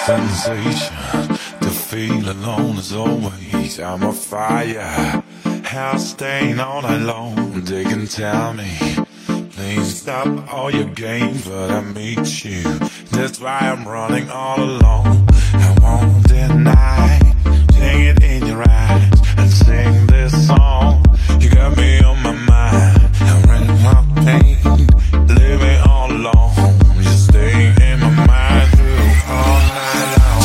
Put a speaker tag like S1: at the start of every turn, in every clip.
S1: sensation to feel alone as always. I'm a fire, house staying all night long. They can tell me, please stop all your games, but I meet you. That's why I'm running all alone. I won't deny, sing it in your eyes and sing this song. You got me on my mind, I'm running my pain, living all alone. You stay in my mind through all night long.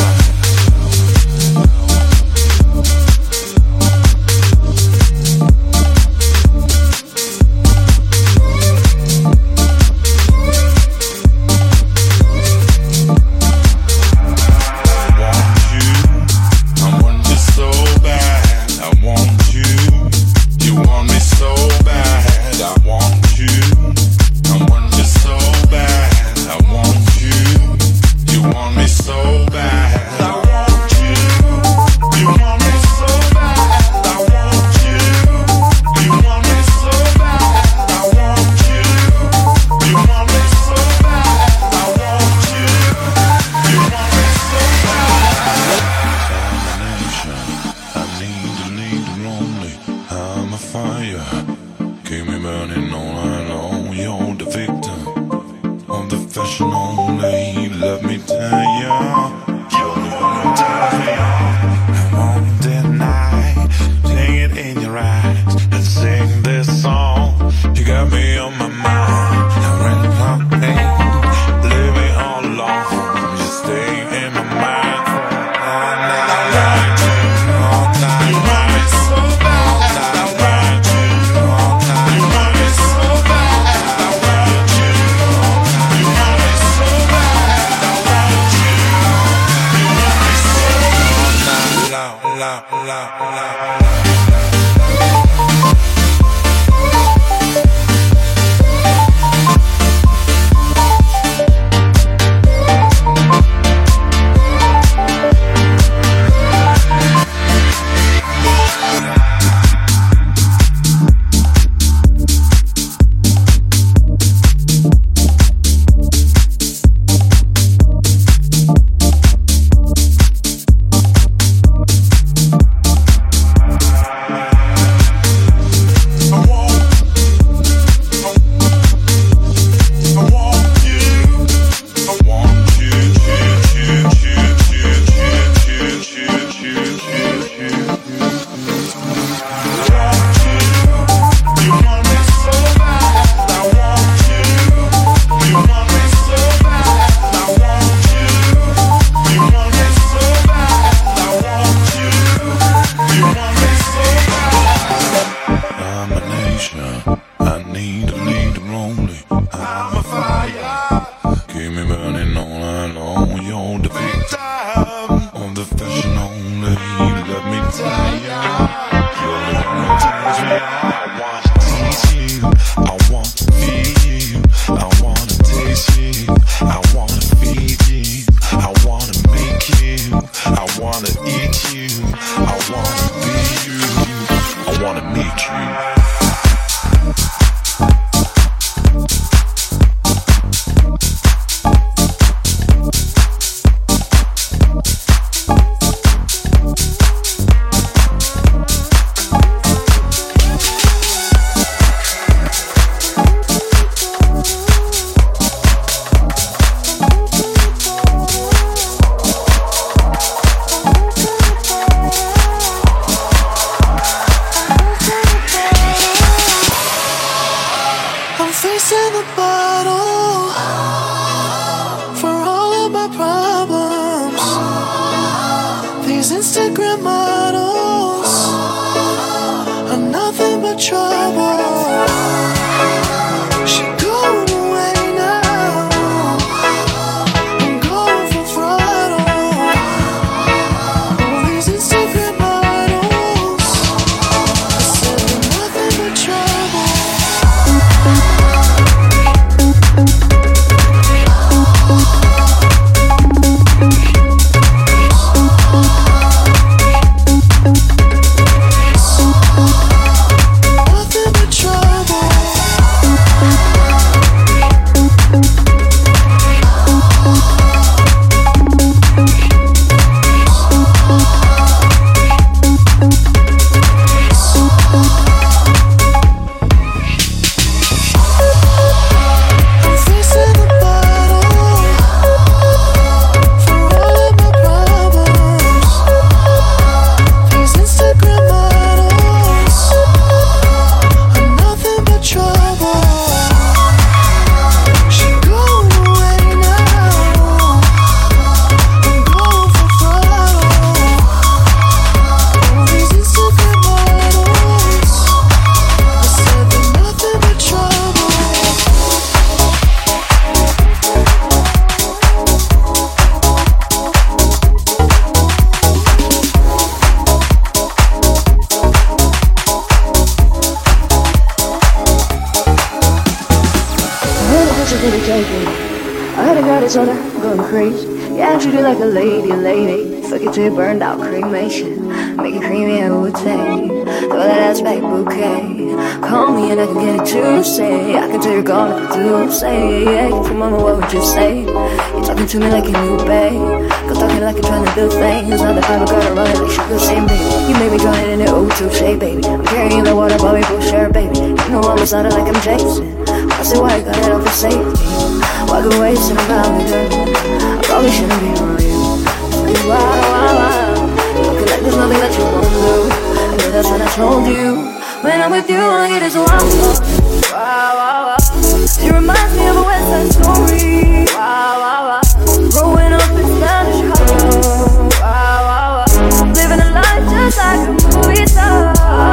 S2: so good at taking. I heard a girl that's on her, going crazy. Yeah, treat you like a lady. Fuck it till you burned out, cremation. Make it creamy and would take. Throw that ass back bouquet. Call me and I can get it to say. I can tell you're gone if you do say. Yeah, come on, what would you say? You're talking to me like a new babe. Go talking like you're trying to do things. Not the type of girl to run it like she could say, baby. You made me drown it in the O2 shade, baby. I'm carrying the water, but we both share, baby. You know I'm beside it like I'm Jason. I say why you got it off for safety. Walk away, sitting about me, girl. I probably shouldn't be around you. Wow. Looking like there's nothing that you won't do. I know that's what I told you. When I'm with you, all I get is wow. She reminds me of a West Side Story. Wow. Growing up in Spanish Harlem. Wow. Living a life just like a movie star.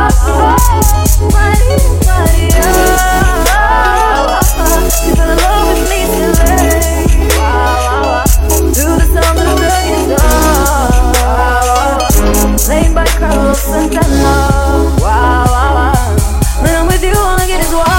S2: You fell in love with me today. Wow. Do the sound of the radio star. Played by Carlos Santana. Wow. When I'm with you, all I get is wow.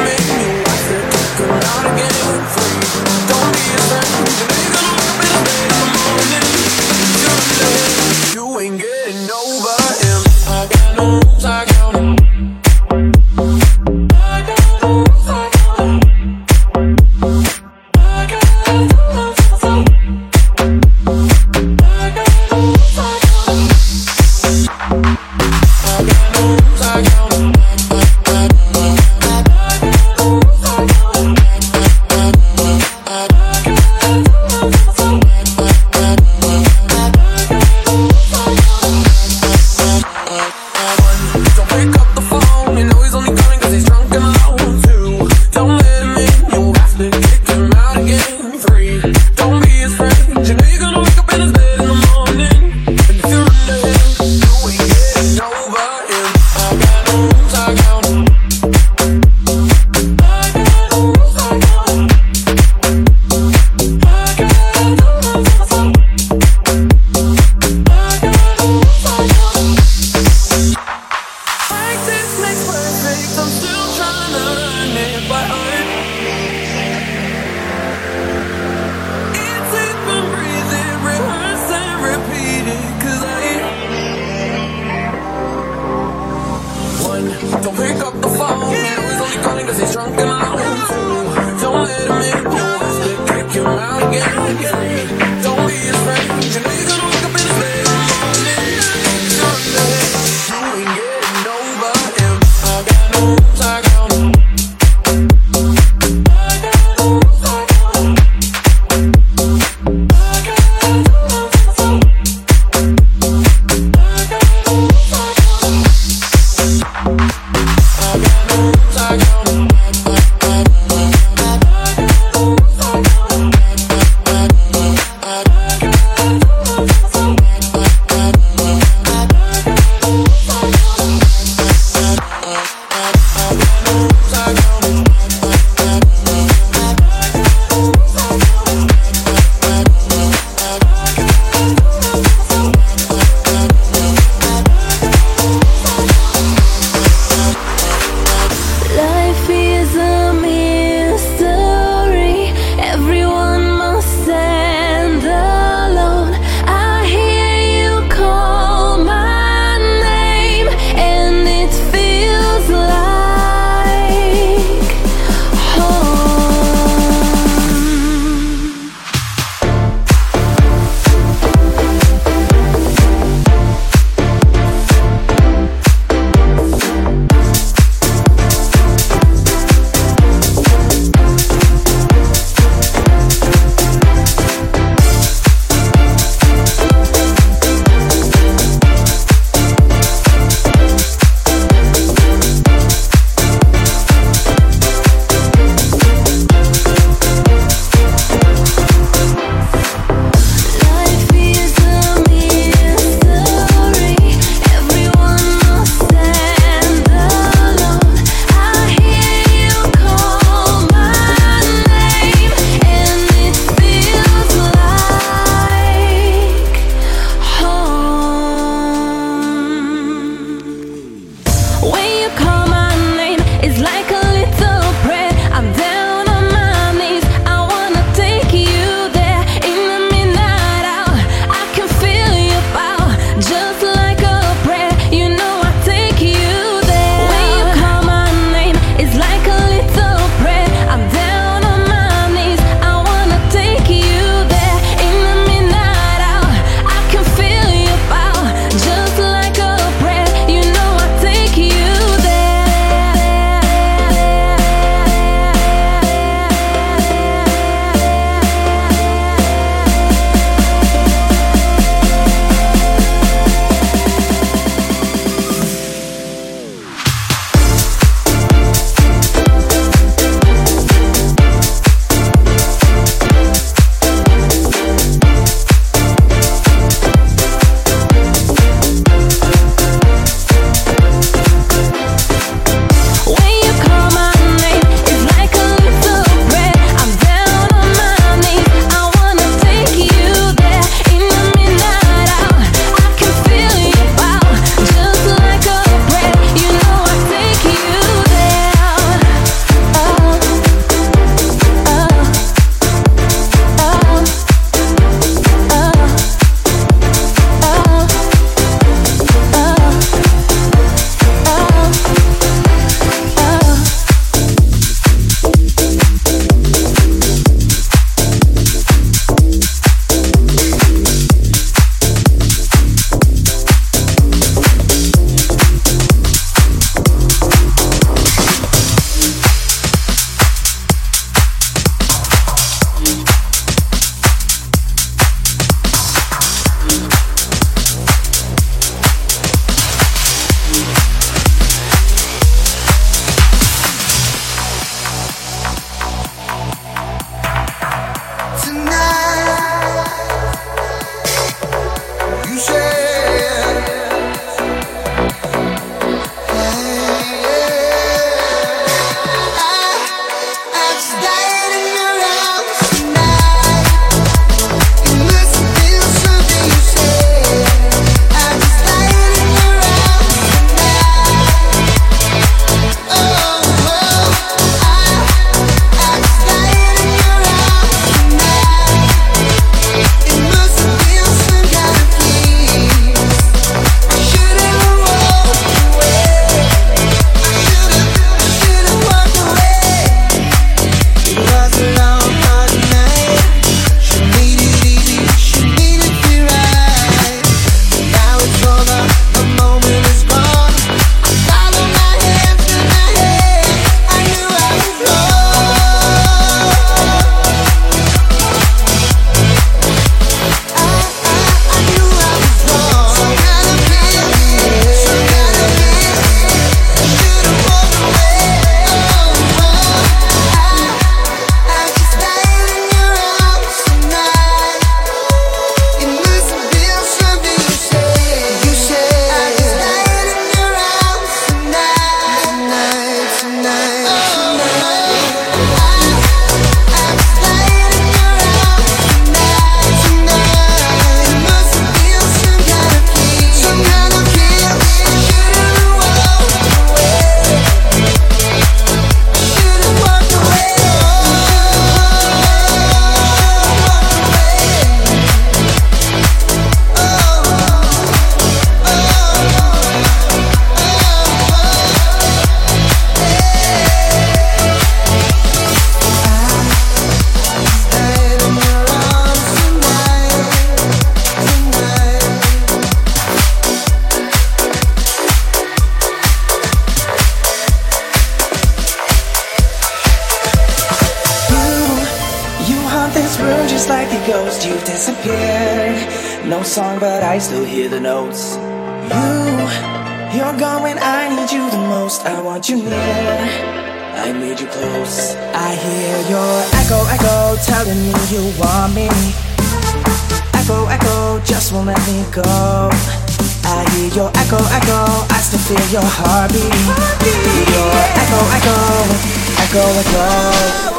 S3: Don't be a friend, you ain't gonna be a just like a ghost, you've disappeared. No song, but I still hear the notes. You're gone when I need you the most. I want you near, I need you close. I hear your echo, echo, telling me you want me. Echo, echo, just won't let me go. I hear your echo, echo, I still feel your heartbeat. Your echo, echo, echo, echo.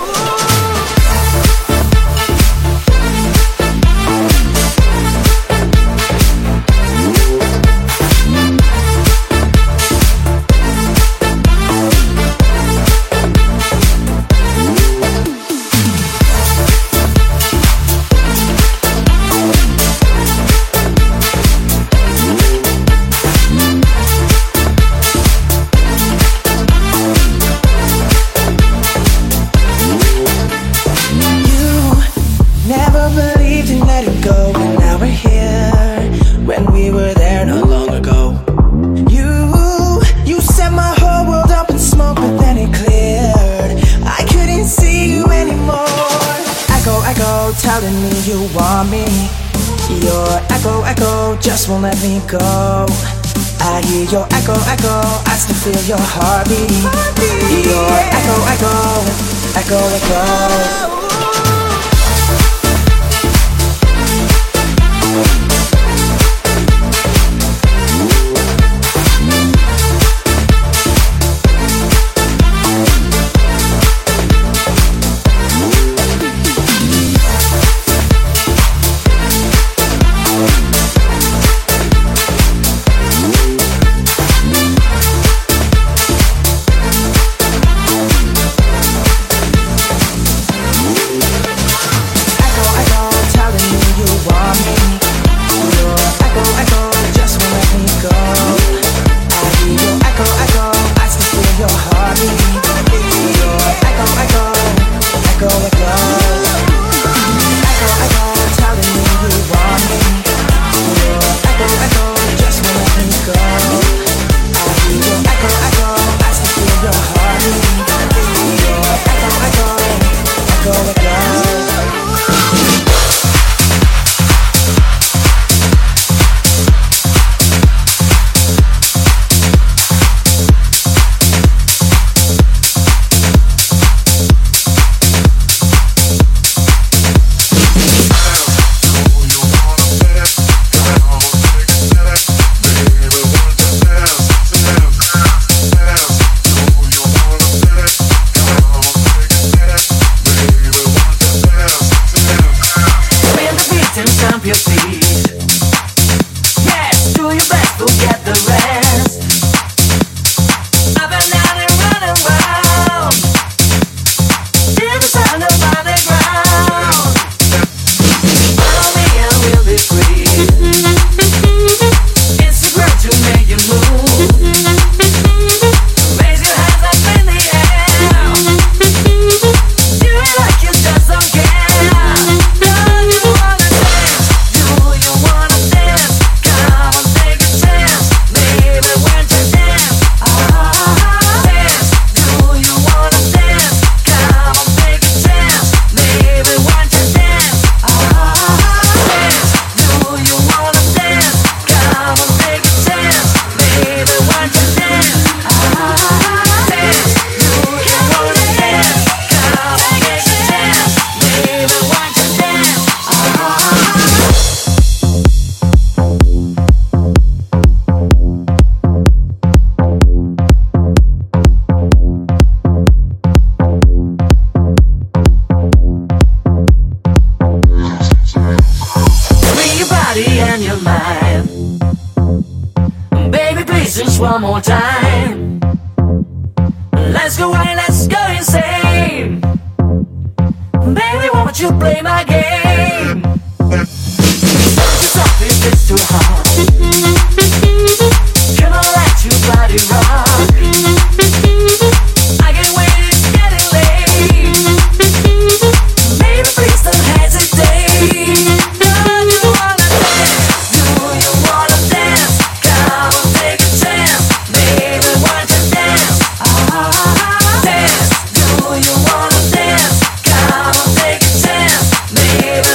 S3: Telling me you want me. Your echo, echo, just won't let me go. I hear your echo, echo, I still feel your heartbeat. Your echo, echo, echo, echo.
S4: One more time. Let's go wild, let's go insane. Baby, won't you play my game? Don't you stop if it's too hard. Come on, let your body rock. I can't wait, it's getting late. Baby, please don't hesitate. Don't you wanna dance? Do you wanna dance? Come on, take a chance. Baby, want to dance? Dance. Do you wanna dance? Come on, take a chance. Baby,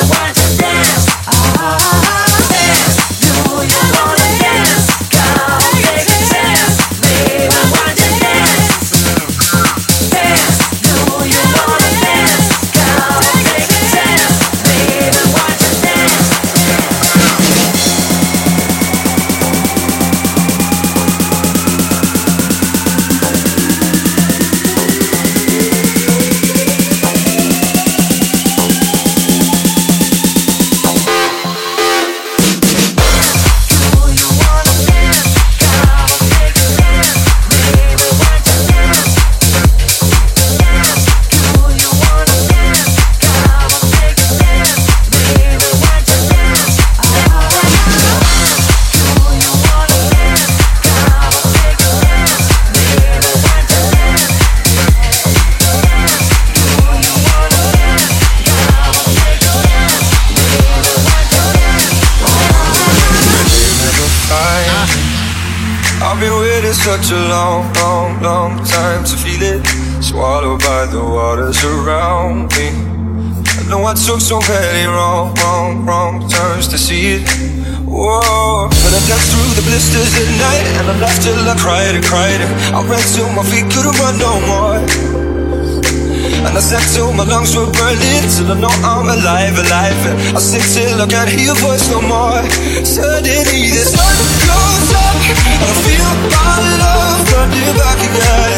S5: such a long, long, long time to feel it. Swallowed by the waters around me. I know I took so many wrong turns to see it. Whoa, but I danced through the blisters at night, and I laughed till I cried and cried. I ran till my feet couldn't run no more, and I sang till my lungs were burning, till I know I'm alive. And I sing till I can't hear your voice no more. Suddenly the sun goes up, and I feel my love running back again.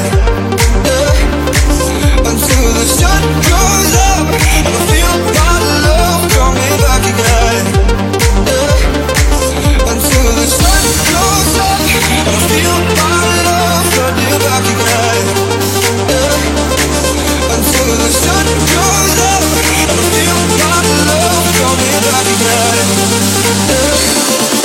S5: Until the sun goes up, and I feel my love coming back again. Until the sun goes up, and I feel my love running back again. Until the sun goes up, and I feel my love coming back again.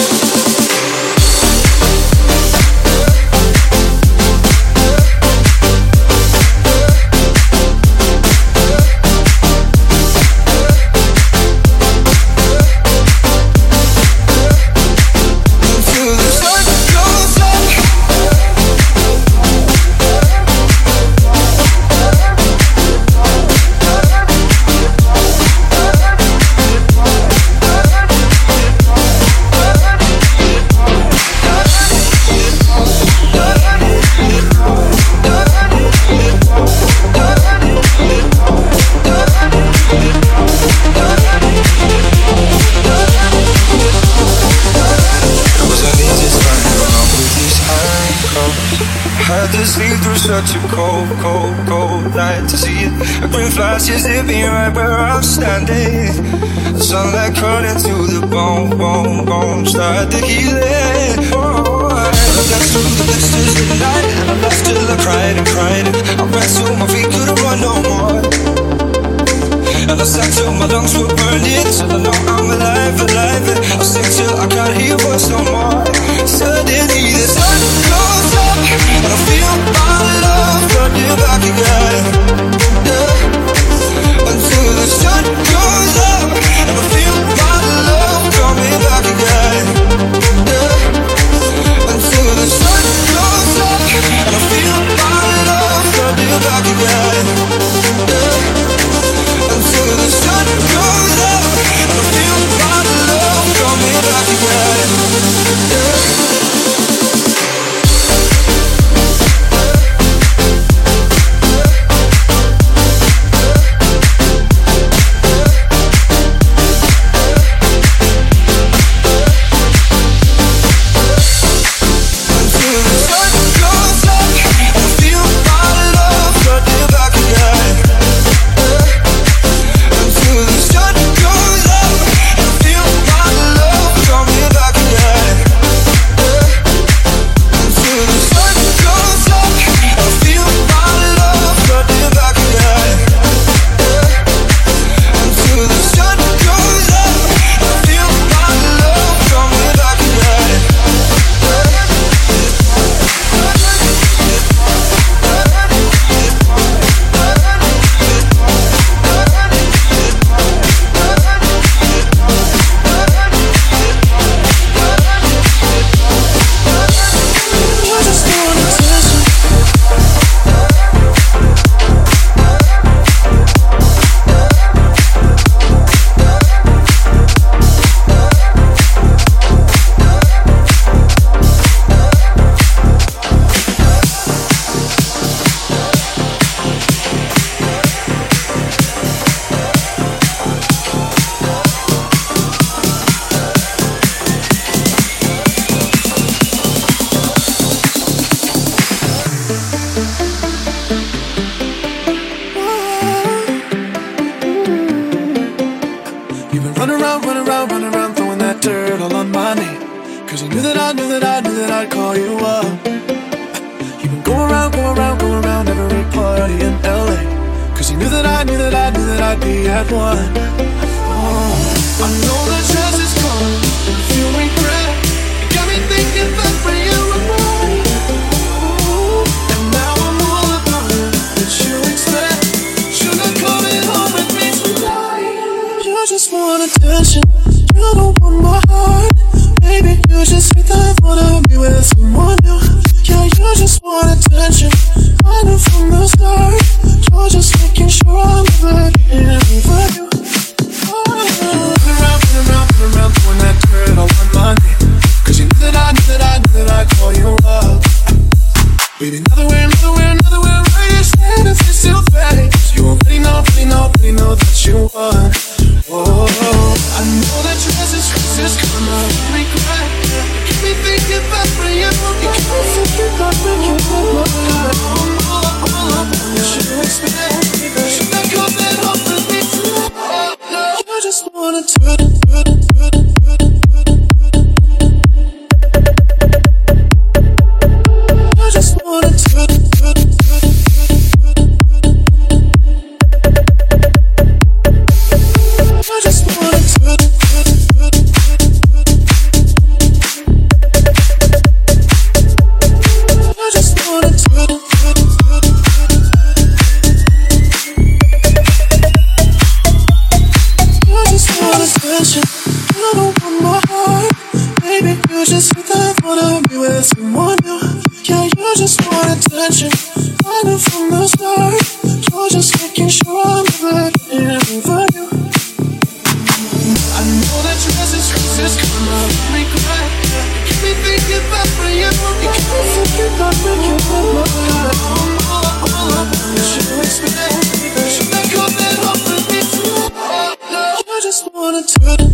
S5: Such a cold night to see it. A green flash is hit me right where I'm standing. The sunlight cut into the bone, start to heal it. I danced through the blisters at night, and I laughed till I cried and cried. I ran till my feet couldn't run no more, and I sang till my lungs were burning, till I know I'm alive. And I sing till I can't hear your voice no more. Suddenly the sun goes up, and I feel my love running back again. Until the sun goes up, and I feel my love coming back again. Until the sun goes up, and I feel my love running back again. Until the sun goes up, and I feel my love coming back again.
S6: just hit that wanna be with someone new. Yeah, you just want attention. I knew from the start. You're just making sure I'm never getting over you. I know that dress is gonna make me cry. You keep me thinking about when you. You keep me thinking about when you were mine. All I want is you expect. You should make all that up for me. You just wanna turn it.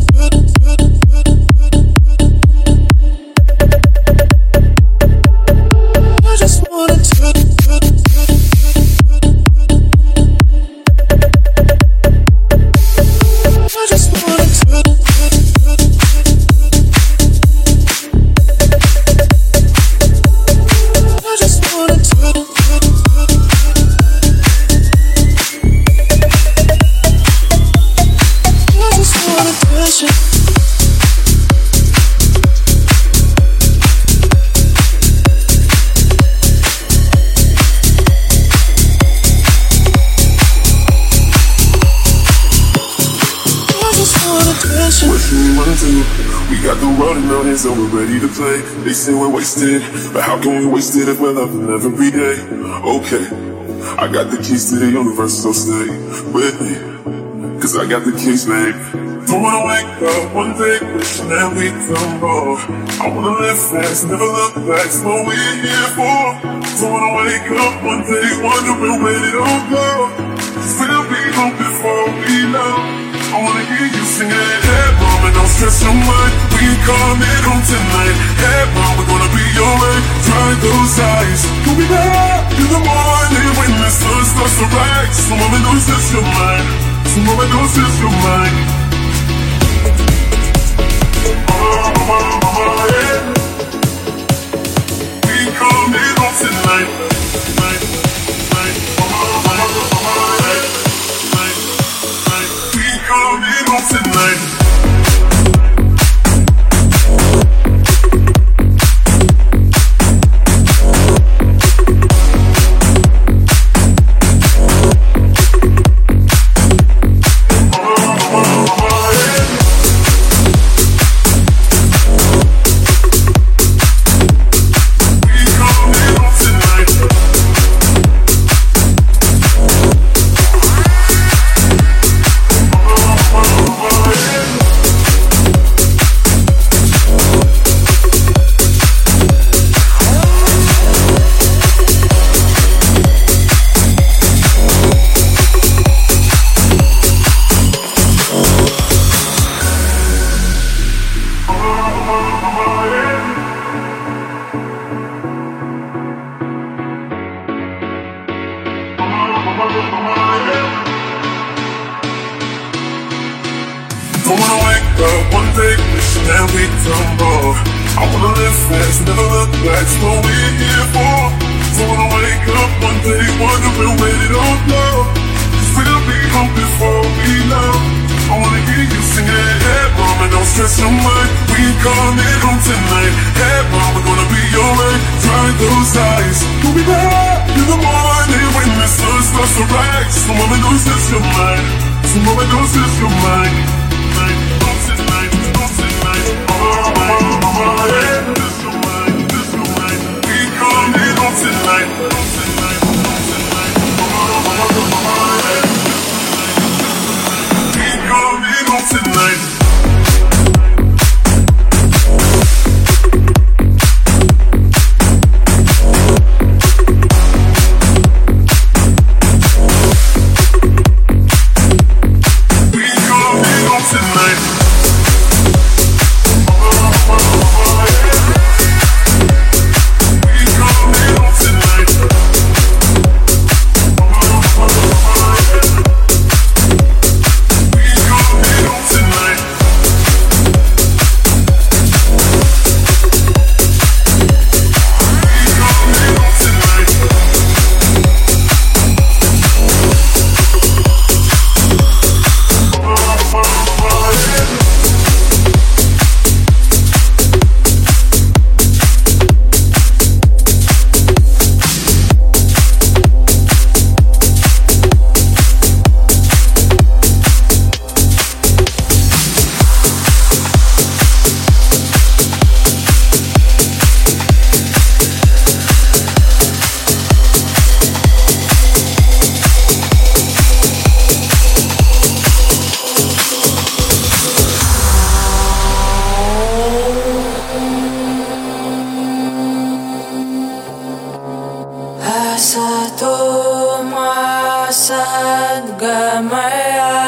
S7: So we're ready to play. They say we're wasted, but how can we waste it if we're loving every day? Okay, I got the keys to the universe, so stay with me, cause I got the keys, babe. Don't wanna wake up one day wishing that we come more. I wanna live fast, never look back, it's what we're here for. Don't wanna wake up one day wondering where it all go. Cause we'll be home before we know. I wanna hear you singing, hey mama, don't stress your mind. We can come in home tonight. Hey mama, we're gonna be alright. Dry those eyes. We'll be back in the morning when the sun starts to rise. So mama knows it's your mind. So mama knows it's your mind. Mama, yeah. We can come in home tonight. Come in home tonight.
S8: Gamaya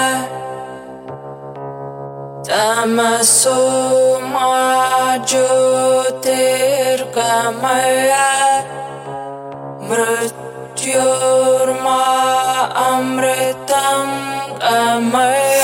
S8: Tamasoma Jyotirgamaya Mrityorma Amritam Gamaya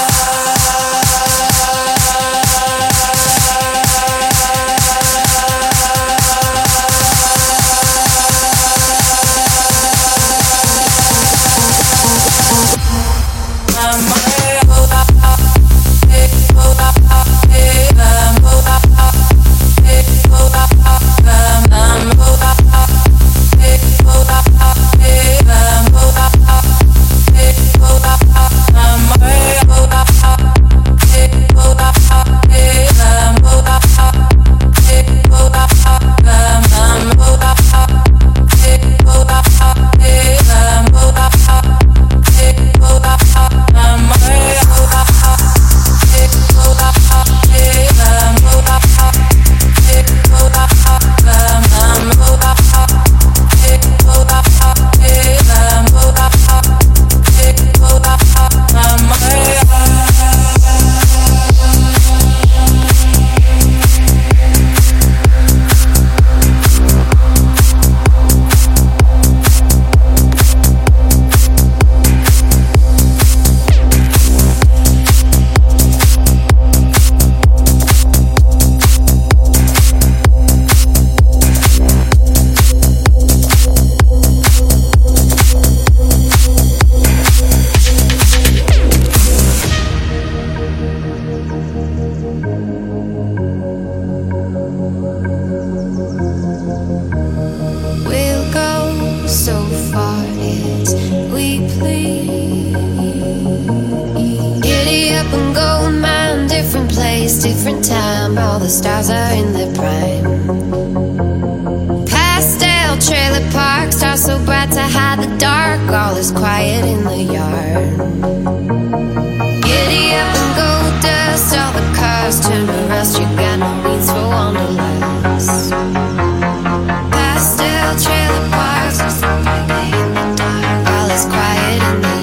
S9: Different time, all the stars are in their prime. Pastel trailer parks are so bright to hide the dark. All is quiet in the yard. Giddy up and go dust, all the cars turn to rust. You got no needs for wanderlust. Pastel trailer parks are so bright in the dark. All is quiet in the yard.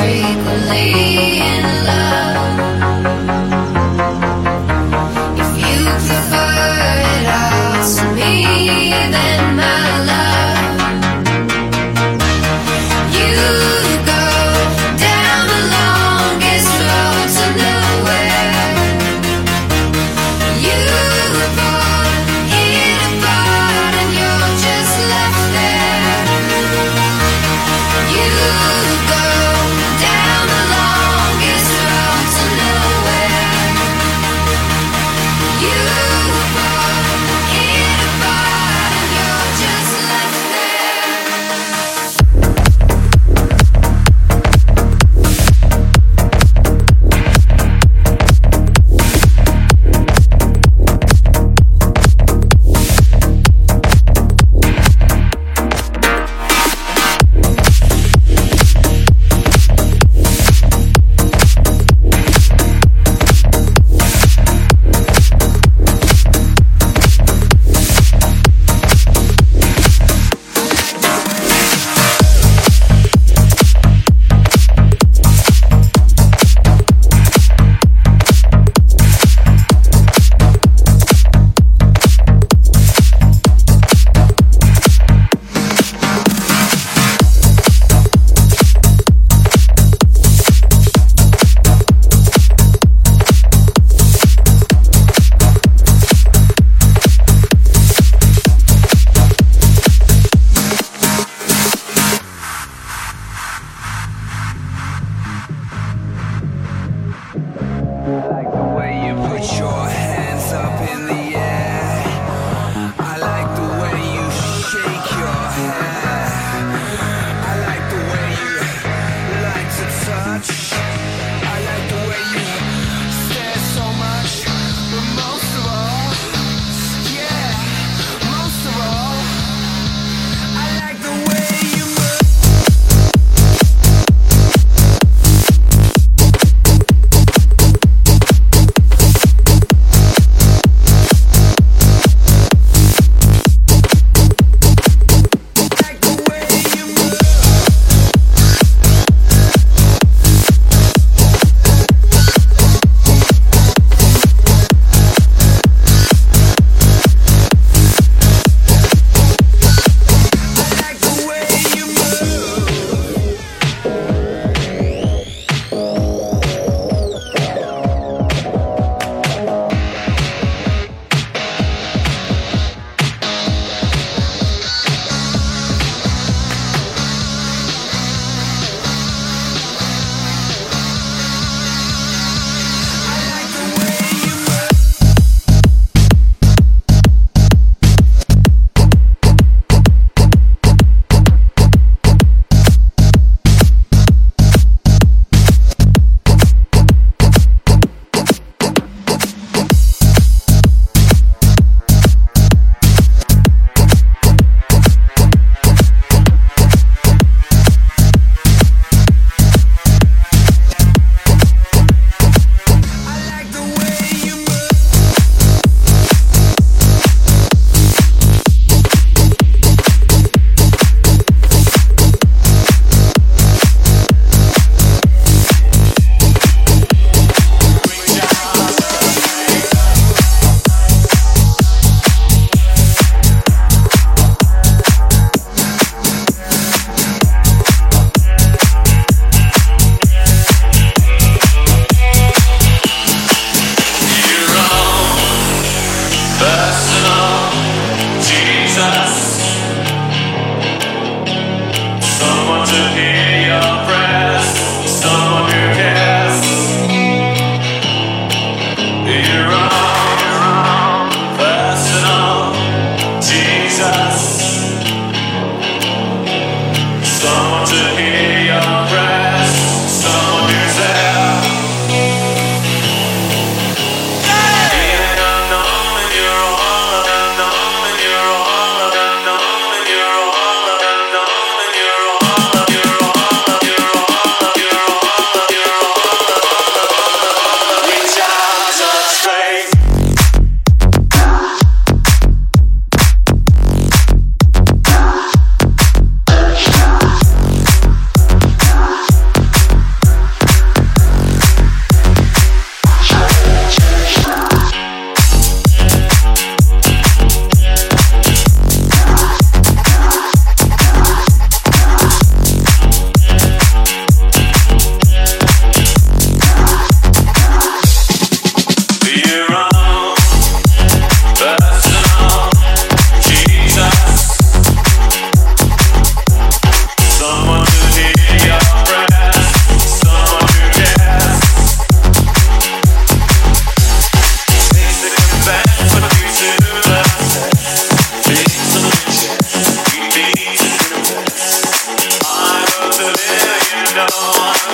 S9: Frequently in love, if you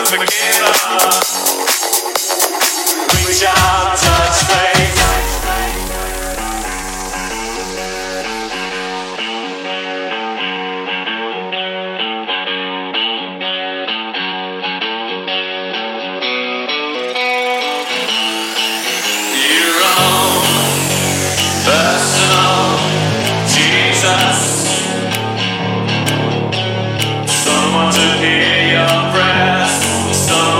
S10: Someone to hear your breath, someone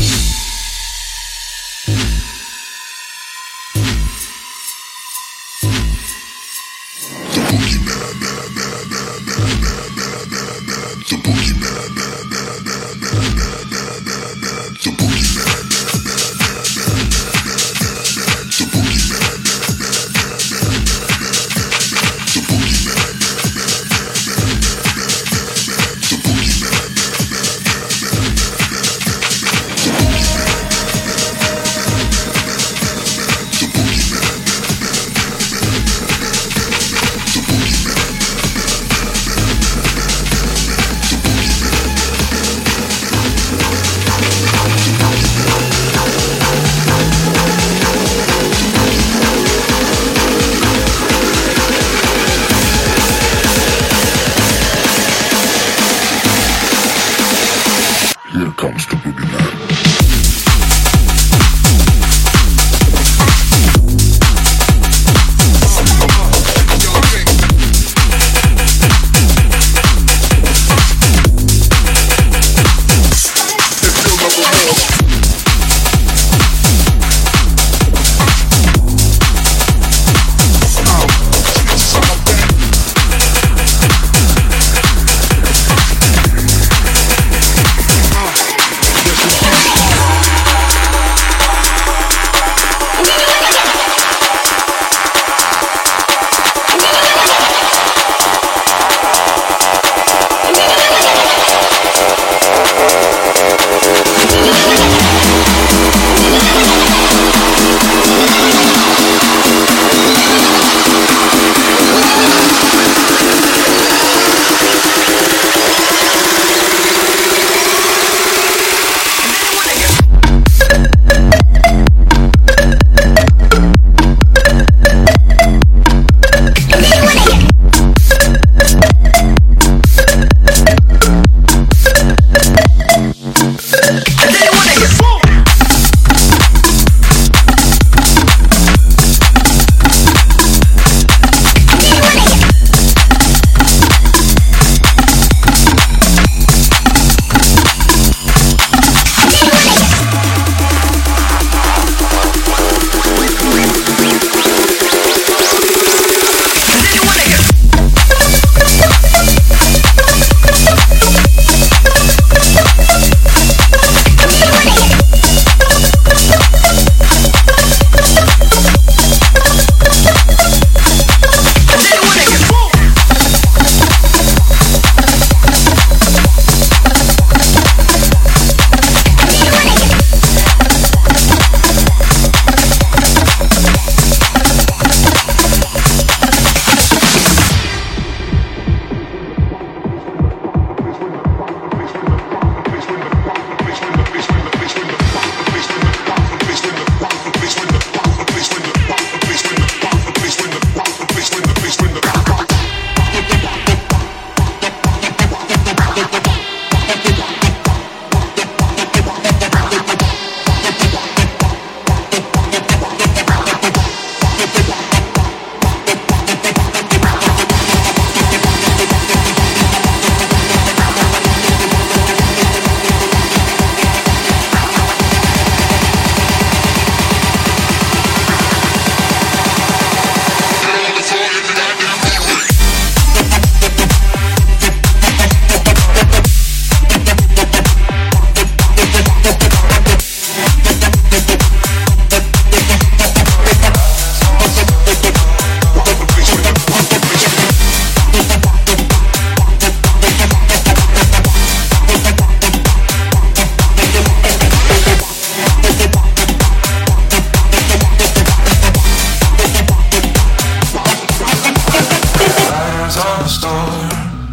S1: on the store.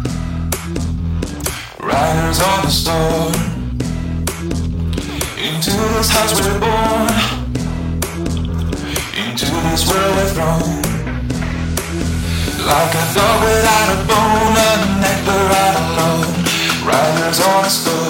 S1: Riders on the store. Into this house we're born. Into this world we're thrown. Like a dog without a bone, a neck but right alone. Riders on the store.